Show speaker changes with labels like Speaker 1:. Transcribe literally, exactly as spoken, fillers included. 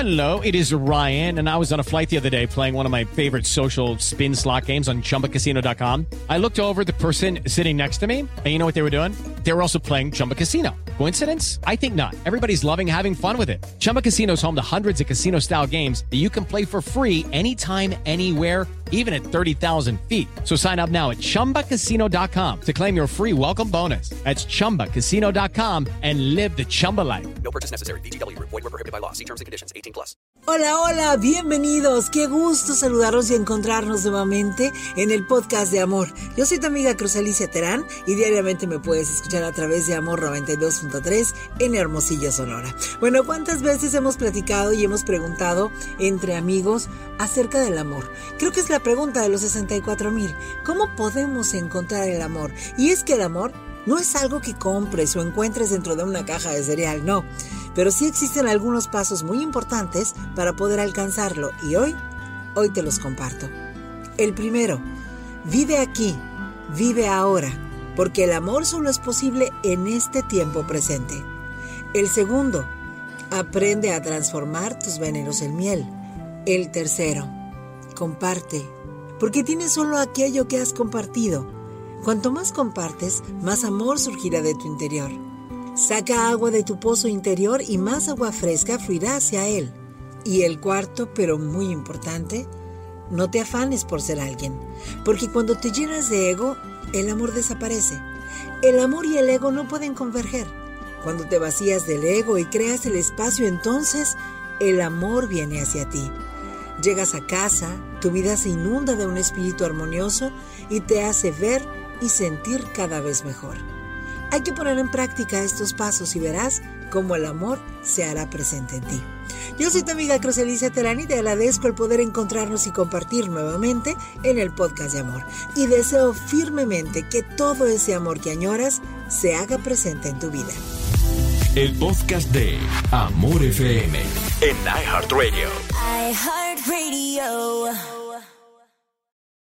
Speaker 1: Hello, it is Ryan, and I was on a flight the other day playing one of my favorite social spin slot games on Chumba Casino dot com. I looked over at the person sitting next to me, and you know what they were doing? They were also playing Chumba Casino. Coincidence? I think not. Everybody's loving having fun with it. Chumba Casino is home to hundreds of casino-style games that you can play for free anytime, anywhere, even at thirty thousand feet. So sign up now at Chumba Casino dot com to claim your free welcome bonus. That's Chumba Casino dot com and live the Chumba life.
Speaker 2: No purchase necessary. V G W. Void where prohibited by law. See terms and conditions. eighteen plus.
Speaker 3: Hola, hola, bienvenidos. Qué gusto saludarlos y encontrarnos nuevamente en el podcast de Amor. Yo soy tu amiga Cruz Alicia Terán y diariamente me puedes escuchar a través de Amor noventa y dos punto tres en Hermosillo, Sonora. Bueno, ¿cuántas veces hemos platicado y hemos preguntado entre amigos acerca del amor? Creo que es la pregunta de los sesenta y cuatro mil. ¿Cómo podemos encontrar el amor? Y es que el amor no es algo que compres o encuentres dentro de una caja de cereal, no. Pero sí existen algunos pasos muy importantes para poder alcanzarlo y hoy, hoy te los comparto. El primero, vive aquí, vive ahora, porque el amor solo es posible en este tiempo presente. El segundo, aprende a transformar tus venenos en miel. El tercero, comparte, porque tienes solo aquello que has compartido. Cuanto más compartes, más amor surgirá de tu interior. Saca agua de tu pozo interior y más agua fresca fluirá hacia él. Y el cuarto, pero muy importante, no te afanes por ser alguien, porque cuando te llenas de ego, el amor desaparece. El amor y el ego no pueden converger. Cuando te vacías del ego y creas el espacio, entonces el amor viene hacia ti. Llegas a casa, tu vida se inunda de un espíritu armonioso y te hace ver y sentir cada vez mejor. Hay que poner en práctica estos pasos y verás cómo el amor se hará presente en ti. Yo soy tu amiga Cruz Alicia Terán y te agradezco el poder encontrarnos y compartir nuevamente en el podcast de Amor. Y deseo firmemente que todo ese amor que añoras se haga presente en tu vida.
Speaker 4: El podcast de Amor F M en iHeartRadio.
Speaker 5: iHeartRadio.